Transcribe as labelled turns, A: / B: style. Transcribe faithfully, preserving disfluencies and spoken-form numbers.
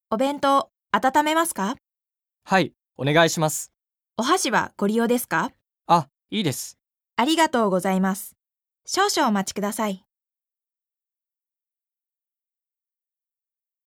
A: お弁当、温めますか？
B: はい、お願いします。
A: お箸はご利用ですか？
B: あ、いいです。
A: ありがとうございます。少々お待ちください。